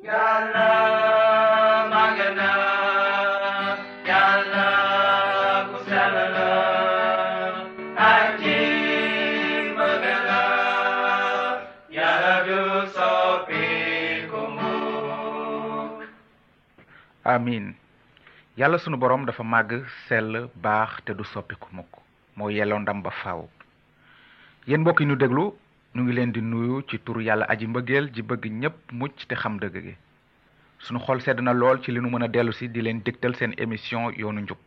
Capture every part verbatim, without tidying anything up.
Yàlla màgg na, Yàlla ku sell la, aji bëgg la, Yàlla du soppiku mukk. amin yàlla sunu borom dafa màgg sell baax te du soppiku mukk moo yelloo ndam ba faaw. yéen mbokk yi ñu déglu ñu ngi leen di nuyu ci turu yàlla aji mbëggeel ji bëgg ñépp mucc te xam dëgg gi. sunu xol sedd na lool ci li nu mën a dellu si di leen dégtal seen émission yoonu njub.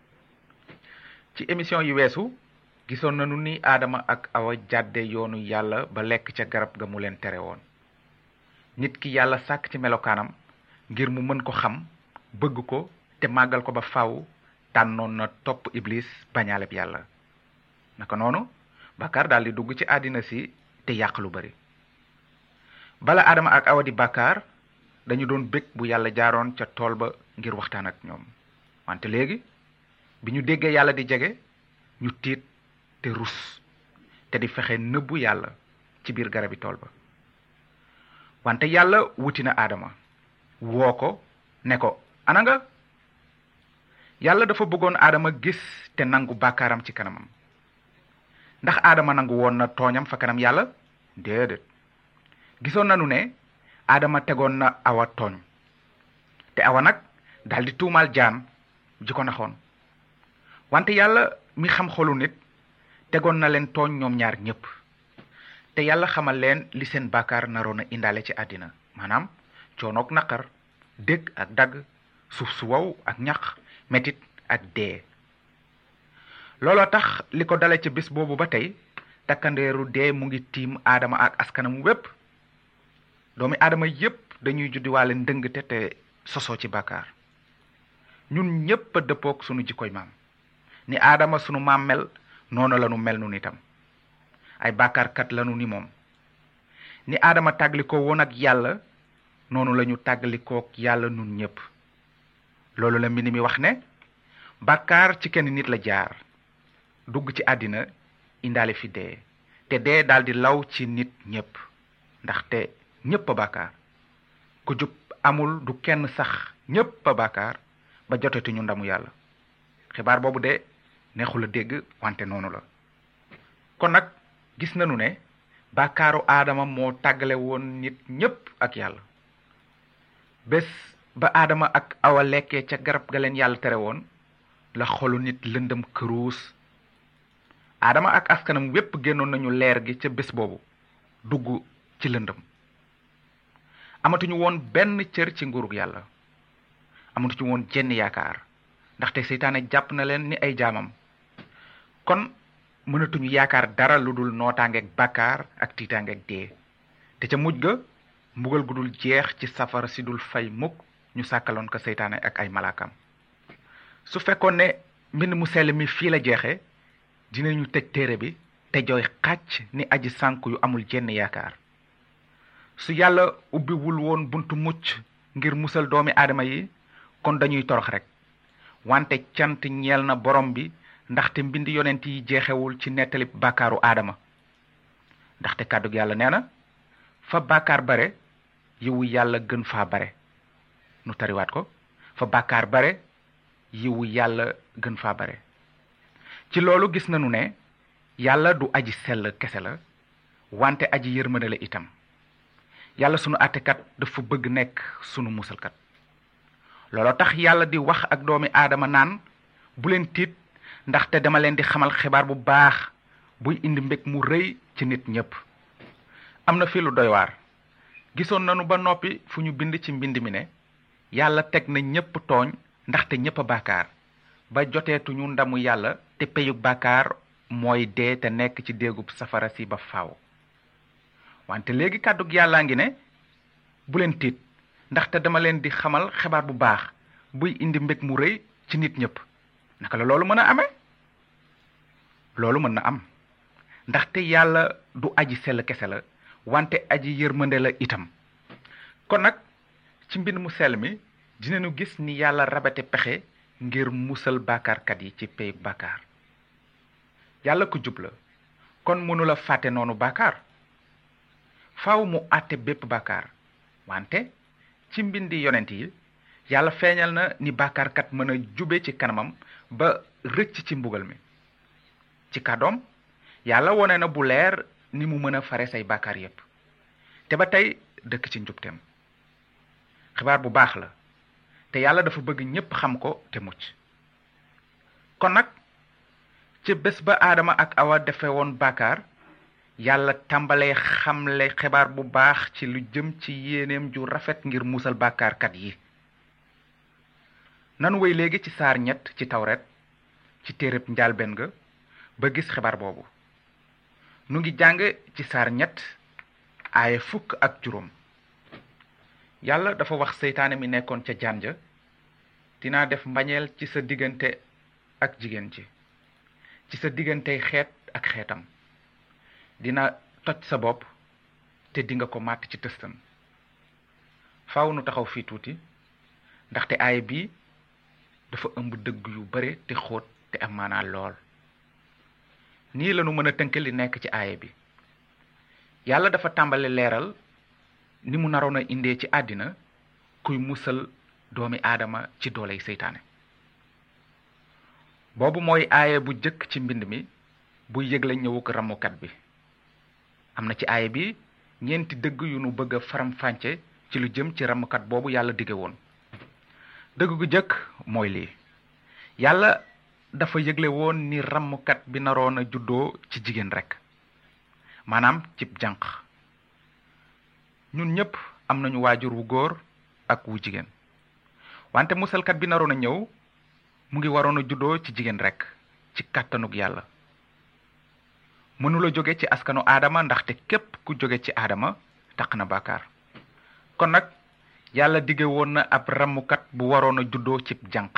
ci émission yi weesu gisoon nañu ni aadama ak awa jàdde yoonu yàlla ba lekk ca garab ga mu leen tere woon. nit ki yàlla sàkk ci melokaanam ngir mu mën ko xam bëgg ko te màggal ko ba faaw tànnoon na topp iblis bañaaleb yàlla. naka noonu bàkkaar daal di dugg ci àddina si te yàq lu bari. bala aadama ak awa di bàkkaar dañu doon bég bu yàlla jaaroon ca tool ba ngir waxtaan ak ñoom. wante léegi bi ñu déggee yàlla di jege ñu tiit te rus te di fexe nëbbu yàlla ci biir garabi tool ba. wante yàlla wuti na aadama woo ko ne ko ana nga. yàlla dafa bëggoon aadama gis te nangu bàkkaaram ci kanamam. ndax aadama nangu woon na tooñam fa kanam yàlla? déedéet. gisoon nanu ne aadama tegoon na awa tooñ te awa nag daldi tuumaal jaan ji ko naxoon. wante yàlla mi xam xolu nit tegoon na leen tooñ ñoom ñaar ñépp te yàlla xamal leen li seen bàkkaar naroon a indaale ci àddina, maanaam coonoog naqar, dégg ak dagg, suuf su wow ak ñax, metit ak dee. looloo tax li ko dale ci bis boobu ba tey takkandeeru dee mu ngi tiim aadama ak askanam wépp. doomi aadama yépp dañuy juddiwaale ndëngte te sosoo ci bàkkaar. ñun ñépp a dëppook sunu jikkoy maam. ni aadama sunu maam mel noonu lanu mel nun itam. ay bàkkaarkat lanu ni moom. ni aadama tàggalikoo woon ak yàlla noonu lañu tàggalikook yàlla nun ñépp. loolu la mbind mi wax ne bàkkaar ci kenn nit la jaar dugg ci àddina indaale fi dee te dee daldi law ci nit ñépp ndaxte ñépp a bàkkaar. ku jub amul du kenn sax ñépp a bàkkaar ba jotetuñu ndamu yàlla. xibaar boobu de neexul a dégg wante noonu la. kon nag gis nañu ne bàkkaaru aadama moo tàggale woon nit ñépp ak yàlla. bés ba aadama ak awa lekkee ca garab ga leen yàlla tere woon la xolu nit lëndëm këruus. aadama ak askanam wépp génnoon nañu leer gi ca bés boobu dugg ci lëndëm. amatuñu woon benn cër ci nguurug yàlla. amatuñu woon jenn yaakaar ndaxte seytaane jàpp na leen ni ay jaamam. kon mënatuñu yaakaar dara lu dul nootaangeeg bàkkaar ak tiitaangeeg dee. te ca mujj ga mbugal gu dul jeex ci safara si dul fay mukk ñu sàkkaloon ko seytaane ak ay malaakam. su fekkoon ne mbind mu sell mi fii la jeexe dinañu tëj téere bi te jooy xàcc ni aji sànku yu amul jenn yaakaar. su yàlla ubbiwul woon buntu mucc ngir musal doomi aadama yi kon dañuy torox rek. wante cant ñeel na borom bi ndaxte mbind yonent yi jeexewul ci nettalib bàkkaaru aadama. ndaxte kàddug yàlla nee na fa bàkkaar bare yiwu yàlla gën faa bare. nu tariwaat ko fa bàkkaar bare yiwu yàlla gën faa bare. ci loolu gis nañu ne yàlla du aji sell kese la wante aji yërmande la itam. yàlla sunu àttekat dafa bëgg nekk sunu musalkat. looloo tax yàlla di wax ak doomi aadama naan bu leen tiit ndaxte dama leen di xamal xibaar bu baax buy indi mbég mu rëy ci nit ñépp. am na fi lu doy waar. gisoon nanu ba noppi fu ñu bind ci mbind mi ne yàlla teg na ñépp tooñ ndaxte ñépp a bàkkaar ba joteetuñu ndamu yàlla te peyug bàkkaar mooy dee te nekk ci déegub safara si ba faaw. wante léegi kàddug yàllaa ngi ne bu leen tiit ndaxte dama leen di xamal xibaar bu baax buy indi mbég mu rëy ci nit ñépp. naka la loolu mën a amee? loolu mën na am ndaxte yàlla du aji sell kese la wante aji yërmande la itam. kon nag ci mbind mu sell mi dinañu gis ni yàlla rabate pexe ngir musal bàkkaarkat yi ci pey bàkkaar. yàlla ku jub la kon mënula fàtte noonu bàkkaar. faaw mu àtte bépp bàkkaar wante ci mbindi yonent yi yàlla feeñal na ni bàkkaarkat mën a jube ci kanamam ba rëcc ci mbugal mi ci kàddoom yàlla wone na bu leer ni mu mën a fare say bàkkaar yépp te ba tey dëkk ci njubteem xibaar bu baax la te yàlla dafa bëgg ñépp xam ko te mucc kon nag ci bés ba aadama ak awa defe woon bàkkaar yàlla tàmbalee xamle xibaar bu baax ci lu jëm ci yéeneem ju rafet ngir musal bàkkaarkat yi nanu wéy léegi ci saar ñett ci tawret ci téereb njaalbeen ga ba gis xibaar boobu nu ngi jàng ci saar ñett aaye fukk ak juróom yàlla dafa wax seytaane mi nekkoon ca jaan ja dinaa def mbañeel ci sa diggante ak jigéen ji ci sa diggantey xeet ak xeetam dina toj sa bopp te dinga ko màtt ci tëstam faaw nu taxaw fii tuuti ndaxte aaye bii dafa ëmb dëgg yu bare te xóot te am maanaa lool nii lanu mën a tënk li nekk ci aaye bi yàlla dafa tàmbale leeral ni mu naroon a indee ci àddina kuy musal doomi aadama ci dooley seytaane boobu mooy aaye bu jëkk ci mbind mi buy yëgle ñëwuk ramukat bi am na ci aaye bi ñeenti dëgg yu nu bëgg a faram-fànce ci lu jëm ci ramukat boobu yàlla dige woon dëgg gu jëkk mooy lii yàlla dafa yëgle woon ni ramukat bi naroon a juddoo ci jigéen rekk maanaam cib jànq ñun ñépp am nañu waajur wu góor ak wu jigéen wante musalkat bi naroon a ñëw mu ngi waroon a juddoo ci jigéen rekk ci kàttanug yàlla mënula jóge ci askanu aadama ndaxte képp ku jóge ci aadama taq na bàkkaar kon nag yàlla dige woon na ab ramukat bu waroon a juddoo cib jànq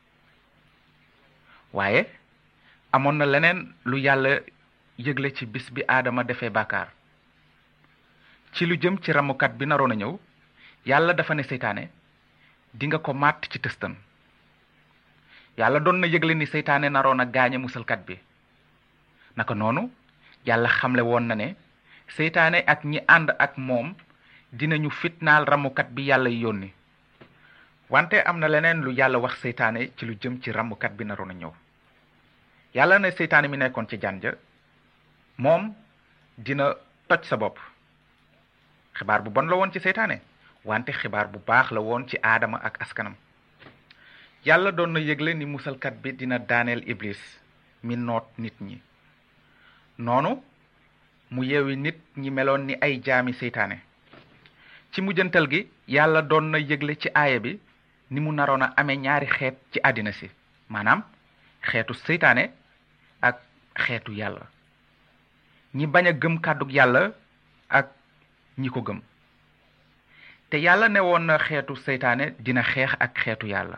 waaye amoon na leneen lu yàlla yëgle ci bis bi aadama defee bàkkaar ci lu jëm ci ramukat bi naroon a ñëw yàlla dafa ne seytaane dinga ko màtt ci tëstan yàlla doon na yëgle ni seytaane naroon a gaañe musalkat bi naka noonu yàlla xamle woon na ne seytaane ak ñi ànd ak moom dinañu fitnaal ramukat bi yàlla yónni wante am na leneen lu yàlla wax seytaane ci lu jëm ci ramukat bi naroon a ñëw yàlla ne seytaane mi nekkoon ci jaan ja moom dina toj sa bopp xibaar bu bon la woon ci seytaane wante xibaar bu baax la woon ci aadama ak askanam yàlla doon na yëgle ni musalkat bi dina daaneel iblis mi noot nit ñi noonu mu yeewi nit ñi meloon ni ay jaami seytaane ci mujjantal gi yàlla doon na yëgle ci aaya bi ni mu naroon a amee ñaari xeet ci àddina si maanaam xeetu seytaane ak xeetu yàlla ñi bañ a gëm kàddug yàlla ak ñi ko gëm te yàlla ne woon na xeetu seytaane dina xeex ak xeetu yàlla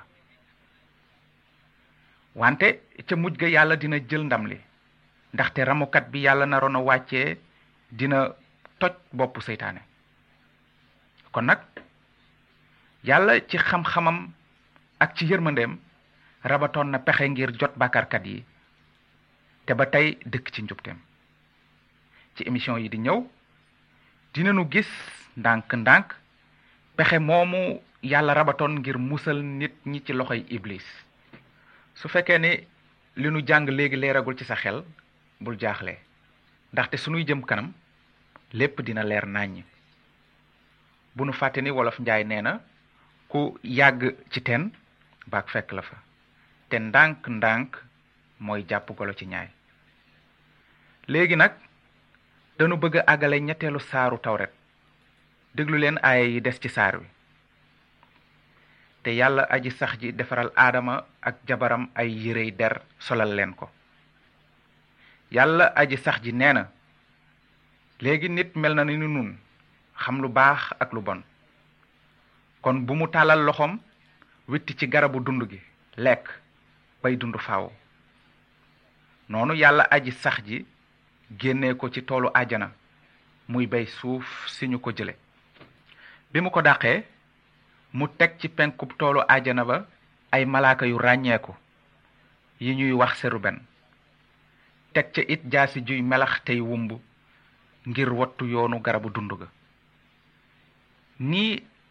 wante ca mujj ga yàlla dina jël ndam li ndaxte ramukat bi yàlla naroon a wàccee dina toj boppu seytaane kon nag yàlla ci xam-xamam ak ci yërmandeem rabatoon na pexe ngir jot bàkkaarkat yi te ba tey dëkk ci njubteem ci émission yi di ñëw dinañu gis ndànk-ndànk pexe moomu yàlla rabatoon ngir musal nit ñi ci loxoy iblis su fekkee ni li nu jàng léegi leeragul ci sa xel bul jaaxle ndaxte sunuy jëm kanam lépp dina leer nàññ bu nu fàtte ni wolof njaay nee na ku yàgg ci teen baak fekk la fa te ndànk-ndànk mooy jàpp golo ci ñaay léegi nag dañu bëgg a àggale ñetteelu saaru tawret déglu leen aaya yi des ci saar wi te yàlla aji sax ji defaral aadama ak jabaram ay yérey der solal leen ko yàlla aji sax ji nee na léegi nit mel na ni nun xam lu baax ak lu bon kon bu mu tàllal loxoom witti ci garabu dund gi lekk bay dund faaw noonu yàlla aji sax ji génnee ko ci toolu àjjana muy bay suuf si ñu ko jële bi mu ko dàqee mu teg ci penkub toolu àjjana ba ay malaaka yu ràññeeku yi ñuy wax seruben teg ca it jaasi juy melax tey wumb ngir wattu yoonu garabu dund ga nii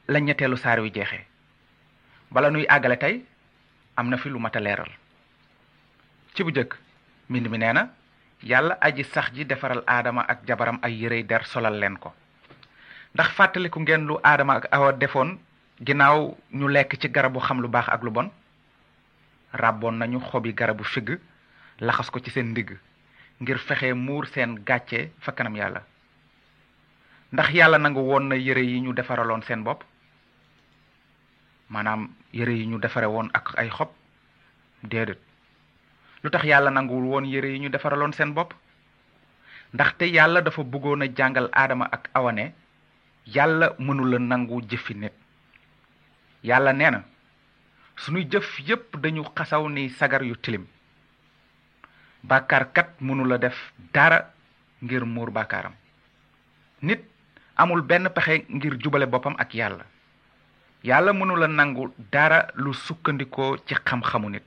la ñetteelu saar wi jeexee. bala nuy àggale tey am na fi lu mat a leeral. ci bu jëkk mbind mi nee na yàlla aji sax ji defaral aadama ak jabaram ay yërey der solal leen ko. ndax fàttaliku ngeen lu aadama ak awa defoon ginnaaw ñu lekk ci garabu xam lu baax ak lu bon? ràbboon nañu xobi garabu figg laxas ko ci seen ndigg ngir fexe muur seen gàcce fa kanam yàlla. ndax yàlla nangu woon na yëre yi ñu defaraloon seen bopp? maanaam yëre yi ñu defare woon ak ay xob? déedéet. lu tax yàlla nanguwul woon yëre yi ñu defaraloon seen bopp? ndaxte yàlla dafa bëggoon a jàngal aadama ak awa ne yàlla mënula nangu jëfi nit. yàlla nee na sunuy jëf yépp dañu xasaw ni sagar yu tilim. bàkkaarkat mënula def dara ngir muur bàkkaaram. nit amul benn pexe ngir jubale boppam ak yàlla. yàlla mënula nangu dara lu sukkandikoo ci xam-xamu nit.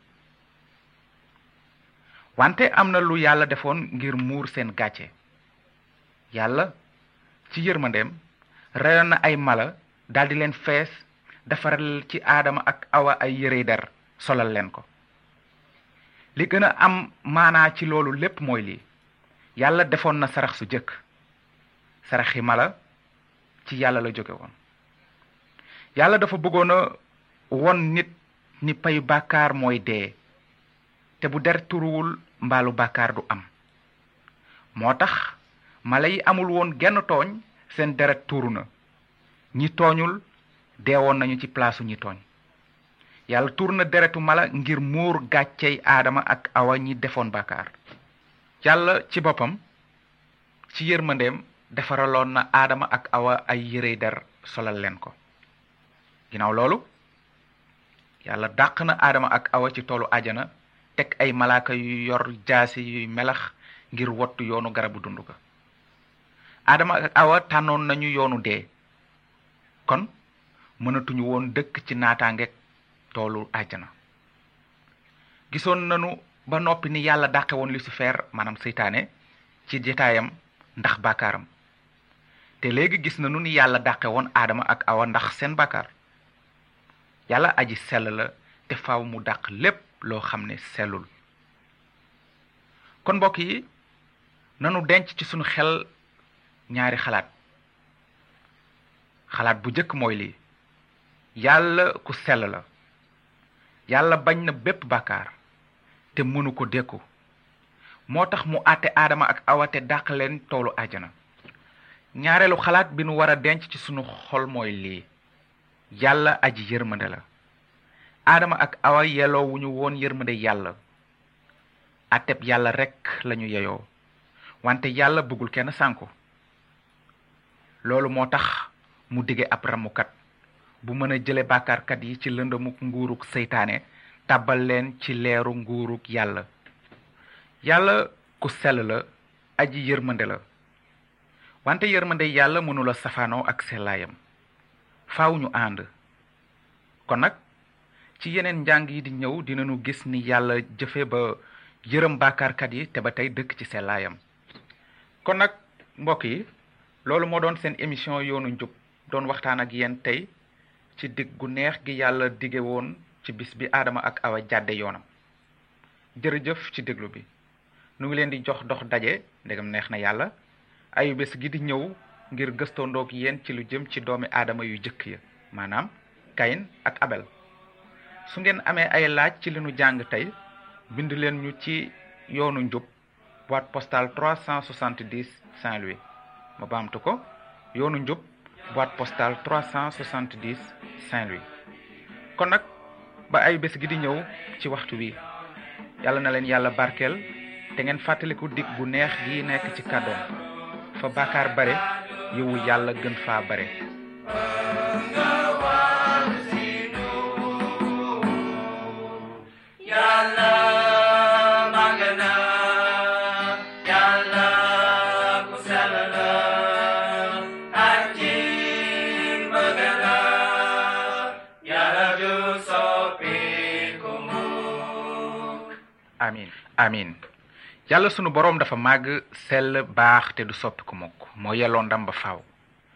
wante am na lu yàlla defoon ngir muur seen gàcce. yàlla ci yërmandeem reyoon na ay mala daldi leen fees defaral ci aadama ak awa ay yërey der solal leen ko. li gën a am maanaa ci loolu lépp mooy lii: yàlla defoon na sarax su jëkk. saraxi mala ci yàlla la jóge woon. yàlla dafa bëggoon a won nit ni payu bàkkaar mooy dee, te bu der turuwul mbaalu bàkkaar du am. moo tax mala yi amul woon genn tooñ, seen deret tuuru na. ñi tooñul deewoon nañu ci palaasu ñi tooñ. yàlla tuur na deretu mala ngir muur gàccey aadama ak awa ñi defoon bàkkaar. yàlla ci boppam ci yërmandeem defaraloon na aadama ak awa ay yërey der solal leen ko. ginnaaw loolu yàlla dàq na aadama ak awa ci toolu ajana, teg ay malaaka yu yor jaasi yuy melax ngir wottu yoonu garabu dund ga. aadama ak awa tànnoon nañu yoonu dee, kon mënatuñu woon dëkk ci naataangeeg toolu ajana. gisoon nañu ba noppi ni yàlla dàqe woon Lucifer maanaam seytaane ci jetaayam ndax bàkkaaram, te léegi gis nañu ni yàlla dàqe woon aadama ak awa ndax seen bàkkaar. yàlla aji sell la te faaw mu dàq lépp loo xam ne sellul. kon mbokk yi nanu denc ci sunu xel ñaari xalaat. xalaat bu jëkk mooy lii: yàlla ku sell la. yàlla bañ na bépp bàkkaar te mënu ko dékku, moo tax mu àtte aadama ak awa te dàq leen toolu àjjana. ñaareelu xalaat bi nu war a denc ci sunu xol mooy lii: yàlla aji yërmande la. aadama ak awa yelloo wu ñu woon yërmande yàlla. àtteb yàlla rekk lañu yeyoo, wante yàlla bëggul kenn sànku. loolu moo tax mu dige ab ramukat bu mën a jële bàkkaarkat yi ci lëndamuk nguuruk seytaane tàbbal leen ci leeru nguuruk yàlla. yàlla ku sell la, aji yërmande la, wante yërmande yàlla mënula safaanoo ak sellaayam. faaw ñu ànd. kon nag ci yeneen njàng yi di ñëw dinañu gis ni yàlla jëfe ba yërëm bàkkaarkat yi te ba tey dëkk ci sellaayam. kon nag mbokk yi, loolu moo doon seen émission yoonu njub, doon waxtaan ak yéen tey ci dig gu neex gi yàlla dige woon ci bis bi aadama ak awa jàdde yoonam. jërëjëf ci déglu bi. nu ngi leen di jox dox daje ndegam neex na yàlla ayu bés gi di ñëw ngir gëstoondoog yéen ci lu jëm ci doomi aadama yu jëkk ya, maanaam Kayin ak Abel. su ngeen amee ay laaj ci li nu jàng tey, bind leen ñu ci yoonu njub, boîte postale trois cent soixante-dix Saint-Louis. ma baamtu ko: yoonu njub, boîte postale trois cent soixante-dix Saint-Louis. kon nag ba ay bés gi di ñëw ci waxtu wi, yàlla na leen yàlla barkeel te ngeen fàttaliku dig bu neex gi nekk ci kàddoom: fa bàkkaar bare yiwu yàlla gën faa bare. amin amin yàlla sunu boroom dafa màgg, sell, baax te du soppiku mukk, moo yelloo ndam ba faaw.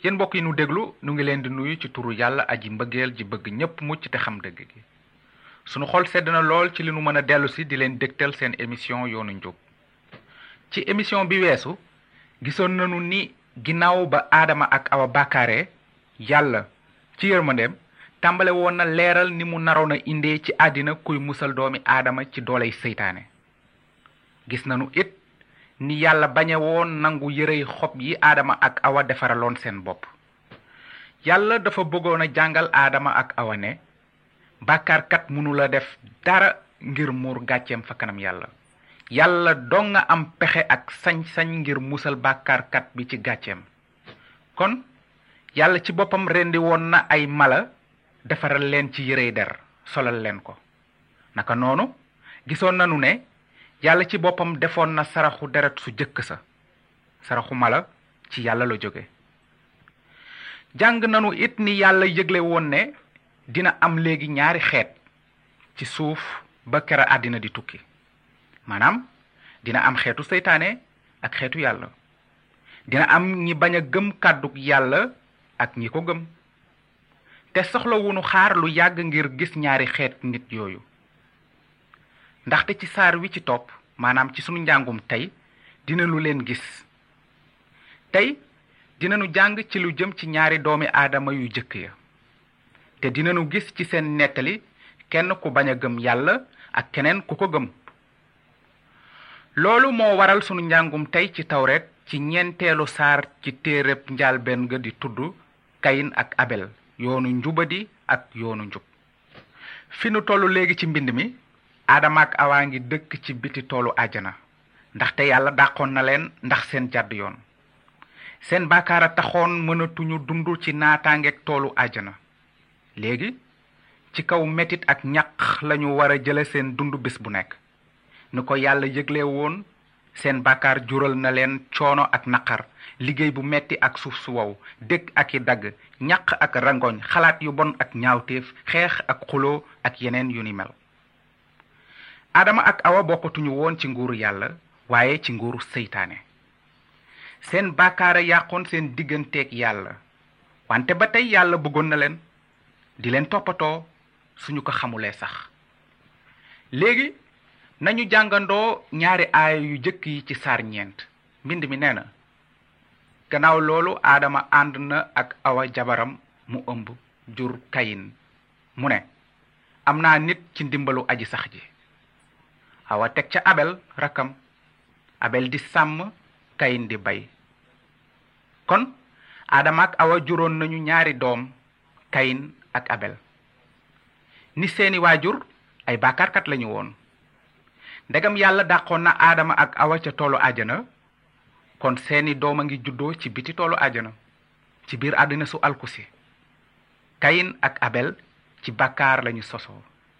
yéen mbokk yi nu déglu nu ngi leen di nuyu ci turu yàlla aji mbëggeel ji bëgg ñépp mucc te xam dëgg gi sunu xol sedd na lool ci li nu mën a dellu si di leen dégtal seen émission yoonu njub ci émission bi weesu gisoon nanu ni ginnaaw ba aadama ak awa bàkkaare yàlla ci yërmandeem tàmbale woon na leeral ni mu naroon a indee ci àddina kuy musal doomi aadama ci dooley seytaane gis nanu it ni yàlla bañe woon nangu yërey xob yi aadama ak awa defaraloon seen bopp yàlla dafa bëggoon a jàngal aadama ak awa ne bàkkaarkat mënula def dara ngir muur gàcceem fa kanam yàlla yàlla dong nga am pexe ak sañ-sañ ngir musal bàkkaarkat bi ci gàcceem kon yàlla ci boppam rendi woon na ay mala defaral leen ci yërey der solal leen ko naka noonu gisoon nanu ne yàlla ci boppam defoon na saraxu deret su jëkk sa saraxu mala ci yàlla la jóge jàng nanu it ni yàlla yëgle woon ne dina am léegi ñaari xeet ci suuf ba kera àddina di tukki maanaam dina am xeetu seytaane ak xeetu yàlla dina am ñi bañ a gëm kàddug yàlla ak ñi ko gëm te soxlawunu xaar lu yàgg ngir gis ñaari xeet nit yooyu ndaxte ci saar wi ci topp maanaam ci sunu njàngum tey dina lu leen gis tey dinanu jàng ci lu jëm ci ñaari doomi aadama yu jëkk ya te dinanu gis ci seen nettali kenn ku bañ a gëm yàlla ak keneen ku ko gëm loolu moo waral sunu njàngum tey ci tawret ci ñeenteelu saar ci téereb njaalbeen ga di tudd kayin ak abel yoonu njubadi ak yoonu njub fi nu tollu léegi ci mbind mi aadama ak awa ngi dëkk ci biti toolu àjjana ndaxte yàlla dàqoon na leen ndax seen jàdd yoon seen bàkkaara taxoon mënatuñu dund ci naataangeeg toolu àjjana léegi ci kaw metit ak ñaq lañu war a jële seen dund bés bu nekk ni ko yàlla yëgle woon seen bàkkaar jural na leen coono ak naqar liggéey bu metti ak suuf su wow dëkk ak i dagg ñaq ak rangoñ xalaat yu bon ak ñaawteef xeex ak xuloo ak yeneen yu ni mel adama ak awa bokkatuñu woon ci nguuru yàlla waaye ci nguuru seytaane seen bàkkaara yàqoon seen digganteeg yàlla wante ba tey yàlla bëggoon na leen di leen toppatoo suñu ko xamulee sax léegi nañu jàngandoo ñaari aaya yu jëkk yi ci saar ñeent mbind mi nee na gannaaw loolu aadama ànd na ak awa jabaram mu ëmb jur kayin mu ne am naa nit ci ndimbalu aji sax ji awa teg ca abel rakkam abel di sàmm kayin di bay kon aadama ak awa juróon nañu ñaari doom kayin ak abel ni seeni waajur ay bàkkaarkat lañu woon ndegam yàlla dàqoon na aadama ak awa ca toolu àjjana kon seeni doom a ngi juddoo ci biti toolu àjjana ci biir àddina su alkusi kayin ak abel ci bàkkaar lañu sosoo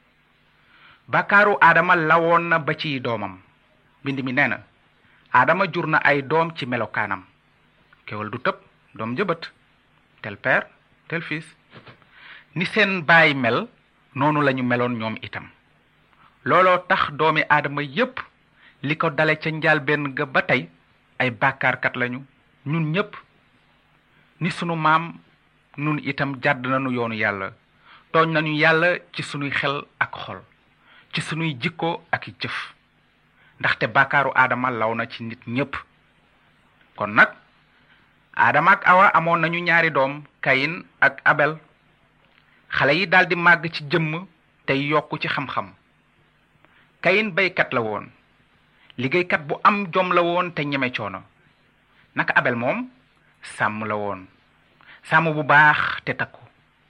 bàkkaaru aadama lawoon na ba ciy doomam mbind mi nee na aadama jur na ay doom ci melokaanam kewal du tëb doom jëbët tel père tel fils ni seen baay mel noonu lañu meloon ñoom itam looloo tax doomi aadama yépp li ko dale ca njaalbeen ga ba tey ay bàkkaarkat lañu ñun ñépp ni sunu maam nun itam jàdd nañu yoonu yàlla tooñ nañu yàlla ci sunuy xel ak xol ci sunuy jikko ak jëf ndaxte bàkkaaru aadama law na ci nit ñépp kon nag aadama ak awa amoon nañu ñaari doom kayin ak abel xale yi daldi màgg ci jëmm tey yokku ci xam-xam kayin baykat la woon liggéeykat bu am jom la woon te ñeme coono naka abel moom sàmm la woon sàmm bu baax te takku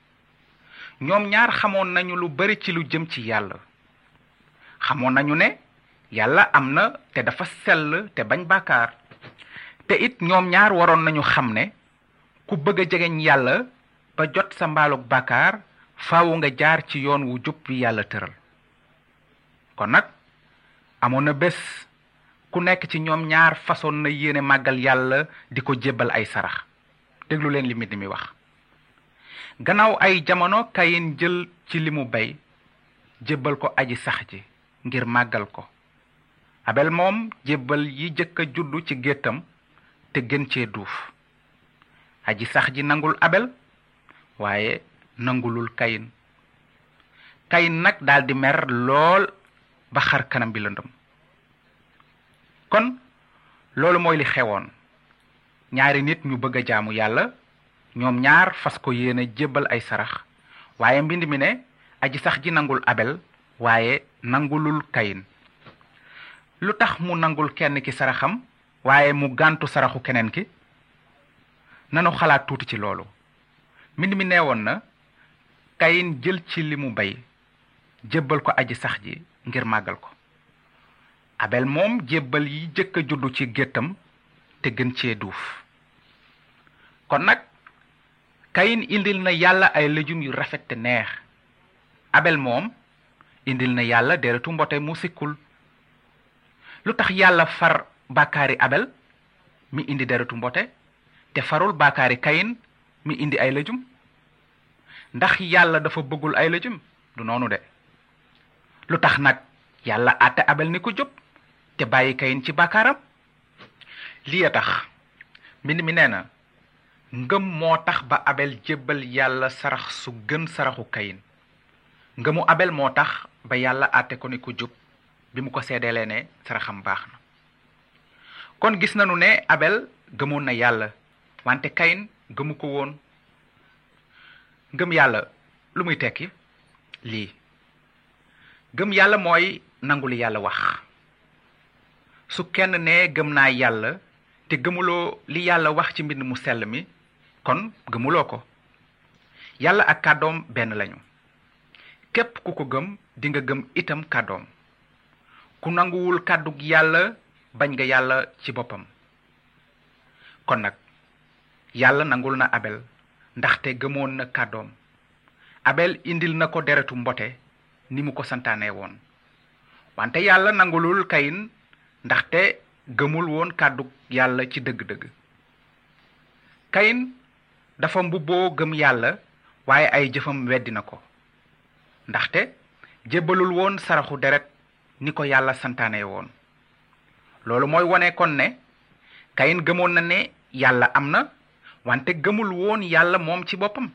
ñoom ñaar xamoon nañu lu bari ci lu jëm ci yàlla xamoon nañu ne yàlla am na te dafa sell te bañ bàkkaar te it ñoom ñaar waroon nañu xam ne ku bëgg a jegeñ yàlla ba jot sa mbaalug bàkkaar faawu nga jaar ci yoon wu jub wi yàlla tëral kon nag amoon na bés ku nekk ci ñoom ñaar façon na yéene màggal yàlla di ko jébbal ay sarax déglu leen li mbind mi wax gannaaw ay jamono kayin jël ci li mu bay jébbal ko aji sax ji ngir màggal ko abel moom jébbal yi jëkk a juddu ci géttam te gën cee duuf aji sax ji nangul abel waaye nangulul kayin kayin nag daldi mer lool ba xar kanam bi lëndëm kon loolu mooy li xewoon ñaari nit ñu bëgg a jaamu yàlla ñoom ñaar fas ko yéene jébbal ay sarax waaye mbind mi ne aji sax ji nangul abel waaye nangulul kayin lu tax mu nangul kenn ki saraxam waaye mu gàntu saraxu keneen ki nanu xalaat tuuti ci loolu mbind mi neewoon na kayin jël ci li mu bay jébbal ko aji sax ji ngir màggal ko abel moom jébbal yi jëkk a juddu ci géttam te gën cee duuf kon nag kayin indil na yàlla ay lëjum yu rafet te neex abel moom indil na yàlla deretu mbote mu sikkul lu tax yàlla far bàkkaari abel mi indi deretu mbote te farul bàkkaari kayin mi indi ay lëjum ndax yàlla dafa bëggul ay lëjum du noonu de lu tax nag yàlla àtte abel ni ko jub te bàyyi kayin ci bàkkaaram lii a tax mbind mi nee na ngëm moo tax ba abel jébbal yàlla sarax su gën saraxu kayin ngëmu abel moo tax ba yàlla àtte ko ni ko jub bi mu ko seedeelee ne saraxam baax na kon gis nanu ne abel gëmoon na yàlla wante kayin gëmu ko woon ngëm yàlla lu muy tekki lii gëm yàlla mooy nangu li yàlla wax su kenn ne gëm naa yàlla te gëmuloo li yàlla wax ci mbind mu sell mi kon gëmuloo ko yàlla ak kàddoom benn lañu képp ku ko gëm di nga gëm itam kàddoom ku nanguwul kàddug yàlla bañ nga yàlla ci boppam kon nag yàlla nangul na abel ndaxte gëmoon na kàddoom abel indil na ko deretu mbote ni mu ko santaane woon wante yàlla nangulul kayin ndaxte gëmul woon kàddug yàlla ci dëgg-dëgg kayin dafa mbubboo gëm yàlla waaye ay jëfam weddi na ko ndaxte jébbalul woon saraxu deret ni ko yàlla santaane woon loolu mooy wone kon ne kayin gëmoon na ne yàlla am na wante gëmul woon yàlla moom ci boppam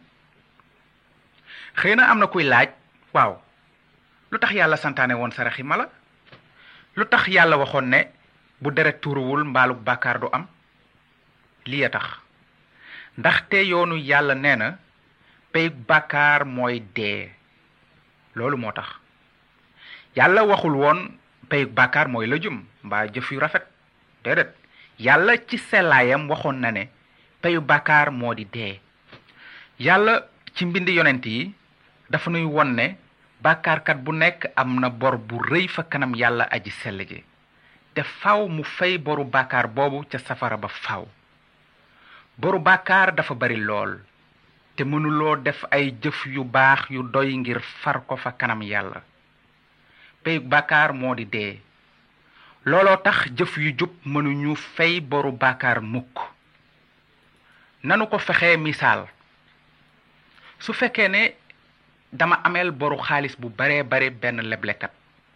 xëy na am na kuy laaj waaw lu tax yàlla santaane woon saraxi mala lu tax yàlla waxoon ne bu deret tuuruwul mbaalug bàkkaar du am lii a tax ndaxte yoonu yàlla nee na peyug bàkkaar mooy dee loolu moo tax yàlla waxul woon peyug bàkkaar mooy lëjum mbaa jëf yu rafet déedéet yàlla ci sellaayam waxoon na ne peyu bàkkaar moo di dee yàlla ci mbindi yonent yi dafa nuy won ne bàkkaarkat bu nekk am na bor bu rëy fa kanam yàlla aji sell ji te faw mu fay boru bàkkaar boobu ca safara ba faw boru bàkkaar dafa bari lool te mënuloo def ay jëf yu baax yu doy ngir far ko fa kanam yàlla peyu bàkkaar moo di dee looloo tax jëf yu jub mënuñu fay boru bàkkaar mukk nanu ko fexe misaal su fekkee ne dama ameel boru xaalis bu bare bare benn leblekat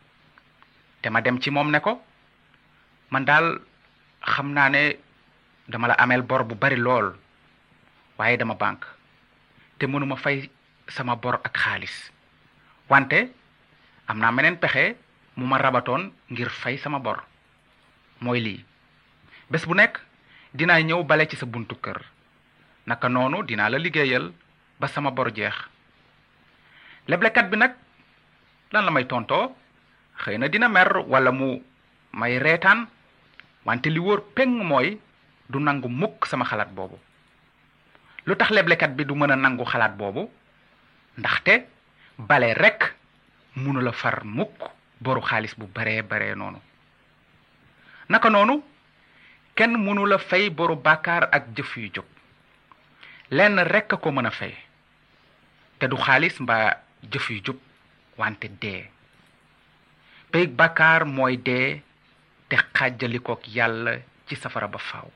te ma dem ci moom ne ko man daal xam naa ne dama la ameel bor bu bari lool waaye dama banque te mënuma fay sama bor ak xaalis wante am naa meneen pexe mu ma rabatoon ngir fay sama bor mooy lii bés bu nekk dinaa ñëw bale ci sa buntu kër naka noonu dinaa la liggéeyal ba sama bor jeex leblekat bi nag lan la may tontoo xëy na dina mer wala mu may reetaan wante li wóor peng mooy du nangu mukk sama xalaat boobu lu tax leblekat bi du mën a nangu xalaat boobu ndaxte bale rekk mënu la far mukk boru xaalis bu bare bare noonu naka noonu kenn mënu la fay boru bàkkaar ak jëf yu jóg lenn rekk a ko mën a fay te du xaalis mbaa jëf yu jub wante dee peyug bàkkaar mooy dee te xàjjalikook yàlla ci safara ba faaw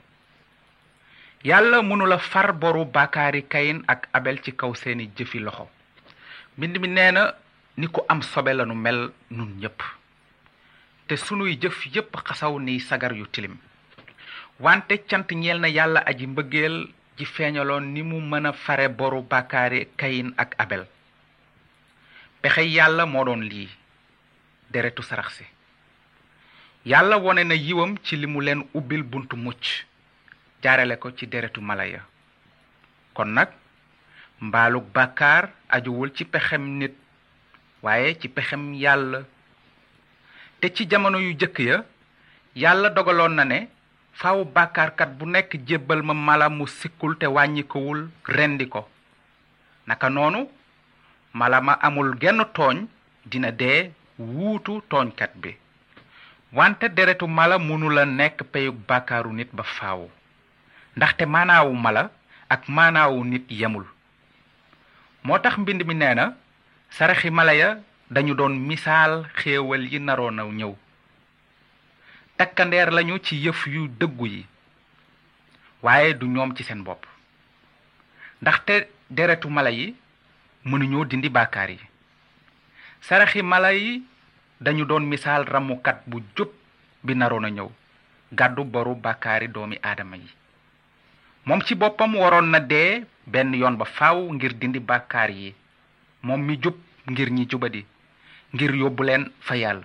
yàlla mënula far boru bàkkaari kayin ak abel ci kaw seeni jëfi loxo mbind mi nee na ni ko am sobe lanu mel nun ñépp te sunuy jëf yépp xasaw ni sagar yu tilim wante cant ñeel na yàlla aji mbëggeel ji feeñaloon ni mu mën a fare boru bàkkaari Kayin ak Abel. pexe yàlla moo doon lii deretu sarax si. yàlla wone na yiwam ci li mu leen ubbil buntu mucc jaarale ko ci deretu mala ya. kon nag mbaalug bàkkaar ajuwul ci pexem nit waaye ci pexem yàlla. te ci jamono yu jëkk ya yàlla dogaloon na ne faaw bàkkaarkat bu nekk jébbal ma mala mu sikkul te wàññikowul rendi ko. naka noonu mala ma amul genn tooñ dina dee wuutu tooñkat bi. wante deretu mala mënula nekk peyug bàkkaaru nit ba faaw ndaxte maanaawu mala ak maanaawu nit yemul. moo tax mbind mi nee na saraxi mala ya dañu doon misaal xéewal yi naroon a ñëw. takkandeer lañu ci yëf yu dëggu yi waaye du ñoom ci seen bopp ndaxte deretu mala yi mënuñoo dindi bàkkaar yi. saraxi mala yi dañu doon misaal ramukat bu jub bi naroon a ñëw gàddu boru bàkkaari doomi aadama yi. moom ci boppam waroon na dee benn yoon ba faaw ngir dindi bàkkaar yi moom mi jub ngir ñi jubadi ngir yóbbu leen fa yàlla.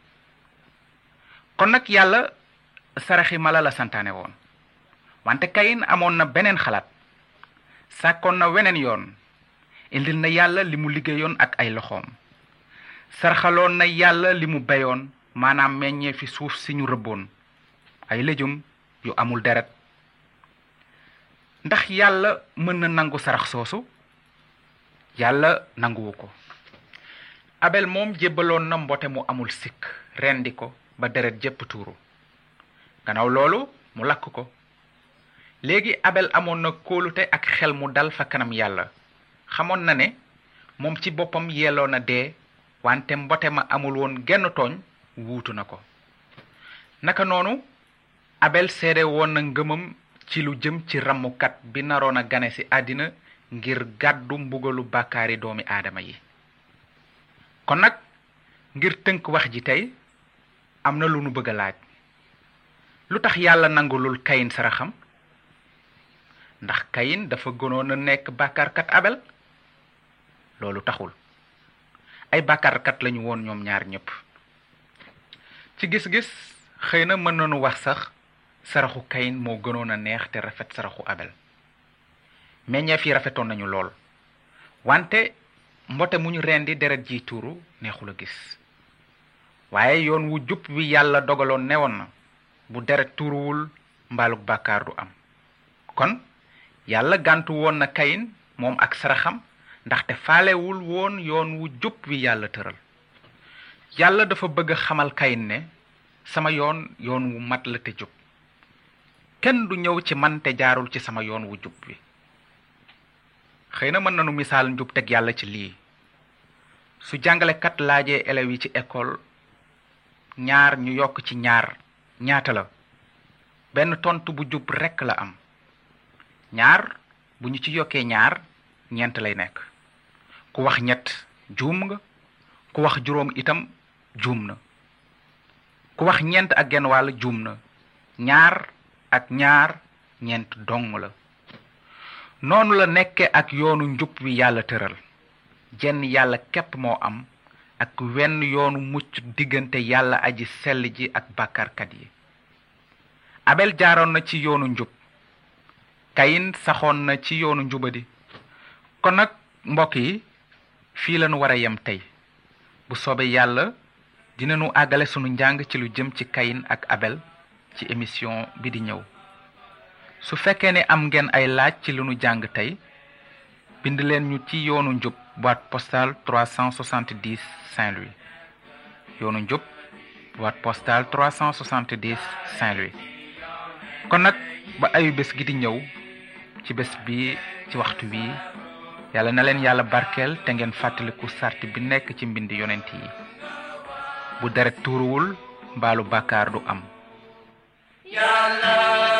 kon nag yàlla saraxi mala la santaane woon wante Kayin amoon na beneen xalaat. sàkkoon na weneen yoon indil na yàlla li mu liggéeyoon ak ay loxoom. sarxaloon na yàlla li mu beyoon maanaam meññee fi suuf si ñu rëbboon ay lejum yu amul deret. ndax yàlla mën na nangu sarax soosu? yàlla nanguwu ko. Abel moom jébbaloon na mbote mu amul sikk rendi ko ba deret jépp tuuru. gannaaw loolu mu lakk ko. léegi Abel amoon na kóolute ak xel mu dal fa kanam yàlla. xamoon na ne moom ci boppam yelloo na dee wante mbote ma amul woon genn tooñ wuutu na ko. naka noonu Abel seede woon na ngëmam ci lu jëm ci ramukat bi naroon a gane ci àddina ngir gàddu mbugalu bàkkaari doomi aadama yi. kon nag ngir tënk wax ji tey am na lu nu bëgg a laaj. lu tax yàlla nangulul Kayin saraxam? ndax Kayin dafa gënoon a nekk bàkkaarkat Abel? loolu taxul. ay bàkkaarkat lañu woon ñoom ñaar ñépp. ci gis-gis xëy na mën nañu wax sax saraxu Kayin moo gënoon a neex te rafet saraxu Abel. meññeef yi rafetoon nañu lool wante mbote mu ñu rendi deret ji tuuru neexul a gis. waaye yoon wu jub wi yàlla dogaloon newoon na bu deret tuuruwul mbaalug bàkkaar du am. kon yàlla gàntu woon na Kayin moom ak saraxam ndaxte faalewul woon yoon wu jub wi yàlla tëral. yàlla dafa bëgg xamal Kayin ne sama yoon yoon wu mat la te jub. kenn du ñëw ci man te jaarul ci sama yoon wu jub wi. xëy na mën nanu misaal njub teg yàlla ci lii. su jàngalekat laajee élèves yi ci école ñaar ñu yokk ci ñaar ñaata la benn tontu bu jub rekk la am. ñaar bu ñu ci yokkee ñaar ñeent lay nekk. ku wax ñett juum nga. ku wax juróom itam juum na. ku wax ñeent ak genn wàll juum na. ñaar ak ñaar ñeent dong la. noonu la nekke ak yoonu njub wi yàlla tëral. jenn yàlla képp moo am ak wenn yoonu mucc diggante yàlla aji sell ji ak bàkkaarkat yi. Abel jaaroon na ci yoonu njub. Kayin saxoon na ci yoonu njubadi. kon nag mbokk yi fii lañu war a yem tey. bu soobee yàlla dinañu àggale sunu njàng ci lu jëm ci Kayin ak Abel ci émission bi di ñëw. su fekkee ne am ngeen ay laaj ci lu nu jàng tey bind leen ñu ci yoonu njub boîte postale trois cent soixante-dix Saint-Louis. yoonu njub boîte postale trois cent soixante-dix Saint-Louis. kon nag ba ayu bés gi di ñëw ci bés bi ci waxtu wi yàlla na leen yàlla barkeel te ngeen fàttaliku sart bi nekk ci mbind yonent yi. bu deret tuuruwul mbaalu bàkkaar du am. Yàlla